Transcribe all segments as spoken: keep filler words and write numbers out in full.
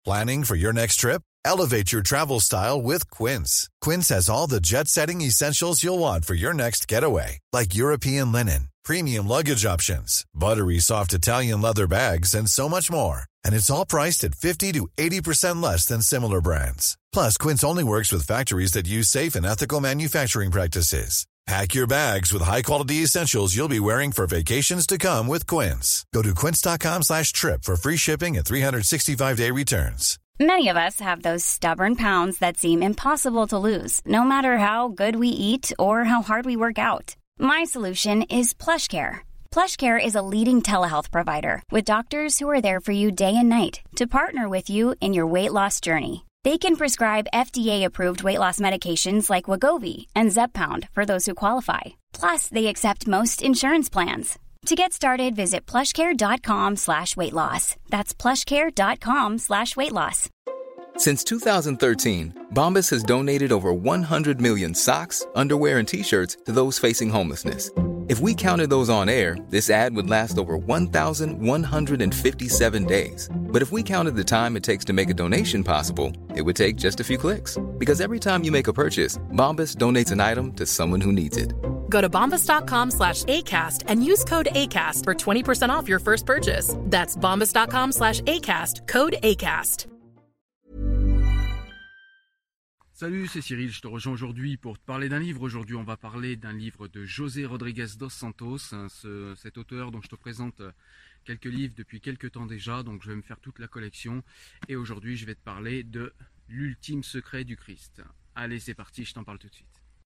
Planning for your next trip? Elevate your travel style with Quince. Quince has all the jet-setting essentials you'll want for your next getaway, like European linen, premium luggage options, buttery soft Italian leather bags, and so much more. And it's all priced at fifty to eighty percent less than similar brands. Plus, Quince only works with factories that use safe and ethical manufacturing practices. Pack your bags with high-quality essentials you'll be wearing for vacations to come with Quince. Go to quince.com slash trip for free shipping and three sixty-five day returns. Many of us have those stubborn pounds that seem impossible to lose, no matter how good we eat or how hard we work out. My solution is PlushCare. PlushCare is a leading telehealth provider with doctors who are there for you day and night to partner with you in your weight loss journey. They can prescribe F D A-approved weight loss medications like Wegovy and Zepbound for those who qualify. Plus, they accept most insurance plans. To get started, visit plushcare.com slash weight loss. That's plushcare.com slash weight loss. Since two thousand thirteen, Bombas has donated over one hundred million socks, underwear, and T-shirts to those facing homelessness. If we counted those on air, this ad would last over one thousand one hundred fifty-seven days. But if we counted the time it takes to make a donation possible, it would take just a few clicks. Because every time you make a purchase, Bombas donates an item to someone who needs it. Go to bombas.com slash ACAST and use code ACAST for twenty percent off your first purchase. That's bombas.com slash ACAST, code ACAST. Salut, c'est Cyril, je te rejoins aujourd'hui pour te parler d'un livre. Aujourd'hui, on va parler d'un livre de José Rodrigues dos Santos, ce, cet auteur dont je te présente quelques livres depuis quelques temps déjà, donc je vais me faire toute la collection. Et aujourd'hui, je vais te parler de L'ultime secret du Christ. Allez, c'est parti, je t'en parle tout de suite.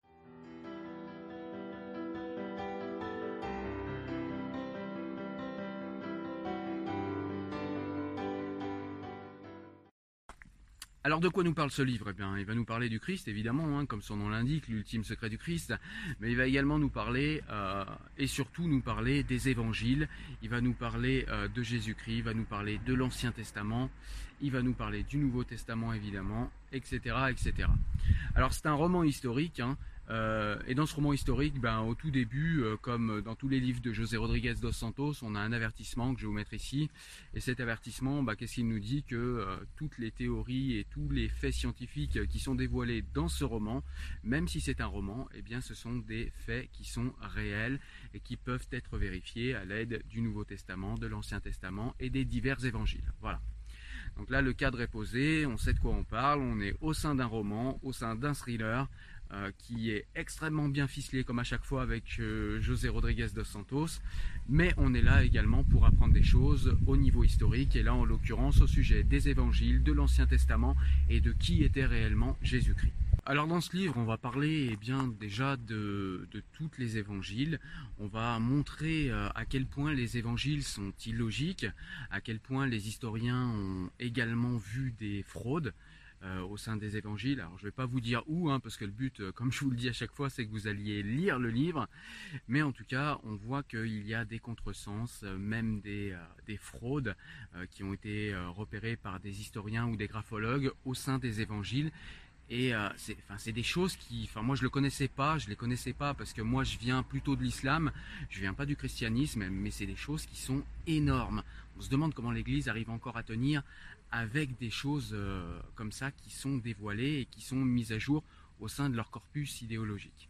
Alors de quoi nous parle ce livre? Eh bien, il va nous parler du Christ, évidemment, hein, comme son nom l'indique, l'ultime secret du Christ, mais il va également nous parler, euh, et surtout nous parler des évangiles, il va nous parler euh, de Jésus-Christ, il va nous parler de l'Ancien Testament, il va nous parler du Nouveau Testament, évidemment, et cetera, et cetera. Alors c'est un roman historique, hein, Euh, et dans ce roman historique, ben, au tout début, euh, comme dans tous les livres de José Rodrigues dos Santos, on a un avertissement que je vais vous mettre ici. Et cet avertissement, ben, qu'est-ce qu'il nous dit? Que euh, toutes les théories et tous les faits scientifiques qui sont dévoilés dans ce roman, même si c'est un roman, eh bien, ce sont des faits qui sont réels et qui peuvent être vérifiés à l'aide du Nouveau Testament, de l'Ancien Testament et des divers évangiles. Voilà. Donc là, le cadre est posé, on sait de quoi on parle, on est au sein d'un roman, au sein d'un thriller, Euh, qui est extrêmement bien ficelé comme à chaque fois avec euh, José Rodrigues dos Santos, mais on est là également pour apprendre des choses au niveau historique, et là en l'occurrence au sujet des évangiles, de l'Ancien Testament et de qui était réellement Jésus-Christ. Alors dans ce livre, on va parler eh bien, déjà de, de tous les évangiles. On va montrer euh, à quel point les évangiles sont illogiques, à quel point les historiens ont également vu des fraudes Euh, au sein des évangiles. Alors je ne vais pas vous dire où, hein, parce que le but, euh, comme je vous le dis à chaque fois, c'est que vous alliez lire le livre, mais en tout cas on voit qu'il y a des contresens, euh, même des, euh, des fraudes euh, qui ont été euh, repérées par des historiens ou des graphologues au sein des évangiles. Et euh, c'est, enfin, c'est des choses qui, enfin moi je le connaissais pas, je les connaissais pas parce que moi je viens plutôt de l'islam, je viens pas du christianisme, mais c'est des choses qui sont énormes. On se demande comment l'Église arrive encore à tenir avec des choses euh, comme ça qui sont dévoilées et qui sont mises à jour au sein de leur corpus idéologique.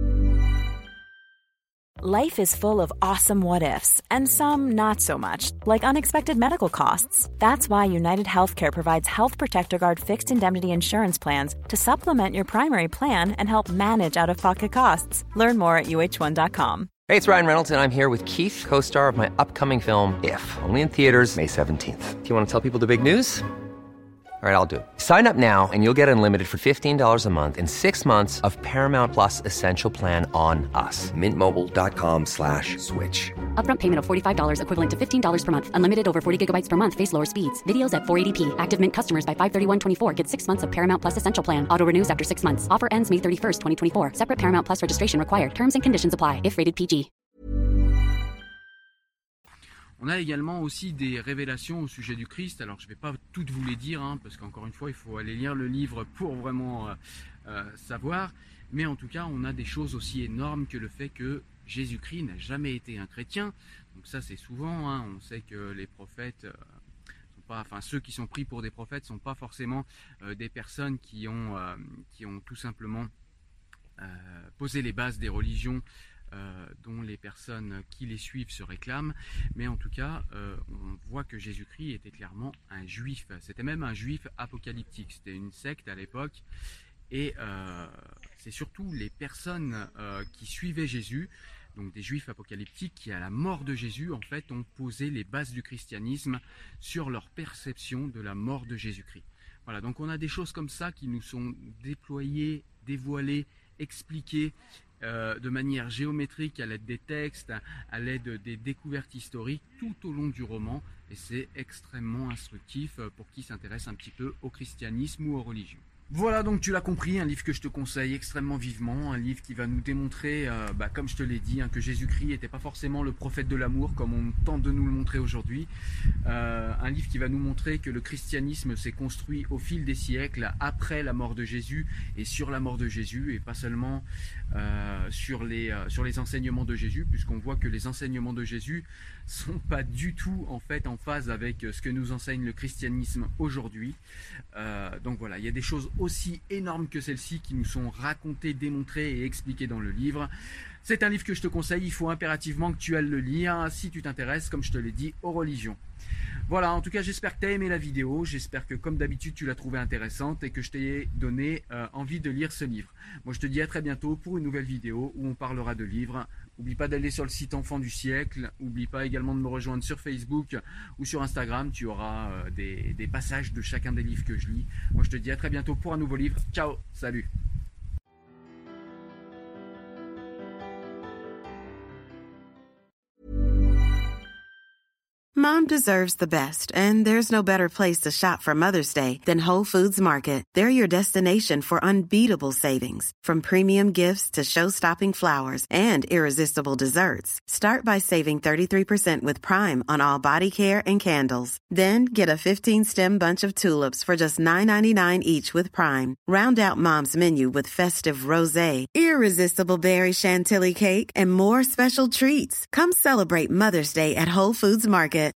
Life is full of awesome what-ifs, and some not so much, like unexpected medical costs. That's why United Healthcare provides Health Protector Guard fixed indemnity insurance plans to supplement your primary plan and help manage out-of-pocket costs. Learn more at U H one dot com. Hey, it's Ryan Reynolds, and I'm here with Keith, co-star of my upcoming film, If, only in theaters May seventeenth. Do you want to tell people the big news? All right, I'll do it. Sign up now and you'll get unlimited for fifteen dollars a month and six months of Paramount Plus Essential Plan on us. Mint Mobile dot com slash switch. Upfront payment of forty-five dollars equivalent to fifteen dollars per month. Unlimited over forty gigabytes per month. Face lower speeds. Videos at four eighty p. Active Mint customers by five thirty-one twenty-four get six months of Paramount Plus Essential Plan. Auto renews after six months. Offer ends May thirty-first, twenty twenty-four. Separate Paramount Plus registration required. Terms and conditions apply if rated P G. On a également aussi des révélations au sujet du Christ. Alors je ne vais pas toutes vous les dire, hein, parce qu'encore une fois, il faut aller lire le livre pour vraiment euh, euh, savoir. Mais en tout cas, on a des choses aussi énormes que le fait que Jésus-Christ n'a jamais été un chrétien. Donc ça, c'est souvent, hein, on sait que les prophètes euh, sont pas, enfin ceux qui sont pris pour des prophètes sont pas forcément euh, des personnes qui ont, euh, qui ont tout simplement euh, posé les bases des religions euh, dont les personnes qui les suivent se réclament, mais en tout cas euh, on voit que Jésus-Christ était clairement un juif, c'était même un juif apocalyptique, c'était une secte à l'époque, et euh, c'est surtout les personnes euh, qui suivaient Jésus, donc des juifs apocalyptiques, qui à la mort de Jésus en fait ont posé les bases du christianisme sur leur perception de la mort de Jésus-Christ. Voilà, donc on a des choses comme ça qui nous sont déployées, dévoilées, expliquées euh, de manière géométrique à l'aide des textes, à l'aide des découvertes historiques tout au long du roman, et c'est extrêmement instructif pour qui s'intéresse un petit peu au christianisme ou aux religions. Voilà, donc tu l'as compris, un livre que je te conseille extrêmement vivement, un livre qui va nous démontrer, euh, bah, comme je te l'ai dit, hein, que Jésus-Christ n'était pas forcément le prophète de l'amour comme on tente de nous le montrer aujourd'hui. Euh, un livre qui va nous montrer que le christianisme s'est construit au fil des siècles, après la mort de Jésus et sur la mort de Jésus, et pas seulement euh, sur, les, euh, sur les enseignements de Jésus, puisqu'on voit que les enseignements de Jésus sont pas du tout en fait en phase avec ce que nous enseigne le christianisme aujourd'hui. Euh, donc voilà, il y a des choses aussi énormes que celles-ci qui nous sont racontées, démontrées et expliquées dans le livre. C'est un livre que je te conseille, il faut impérativement que tu ailles le lire si tu t'intéresses, comme je te l'ai dit, aux religions. Voilà, en tout cas j'espère que tu as aimé la vidéo, j'espère que comme d'habitude tu l'as trouvée intéressante et que je t'ai donné euh, envie de lire ce livre. Moi je te dis à très bientôt pour une nouvelle vidéo où on parlera de livres. N'oublie pas d'aller sur le site Enfants du siècle, n'oublie pas également de me rejoindre sur Facebook ou sur Instagram, tu auras euh, des, des passages de chacun des livres que je lis. Moi je te dis à très bientôt pour un nouveau livre, ciao, salut. Mom deserves the best, and there's no better place to shop for Mother's Day than Whole Foods Market. They're your destination for unbeatable savings, from premium gifts to show-stopping flowers and irresistible desserts. Start by saving thirty-three percent with Prime on all body care and candles. Then get a fifteen-stem bunch of tulips for just nine ninety-nine each with Prime. Round out Mom's menu with festive rosé, irresistible berry chantilly cake, and more special treats. Come celebrate Mother's Day at Whole Foods Market.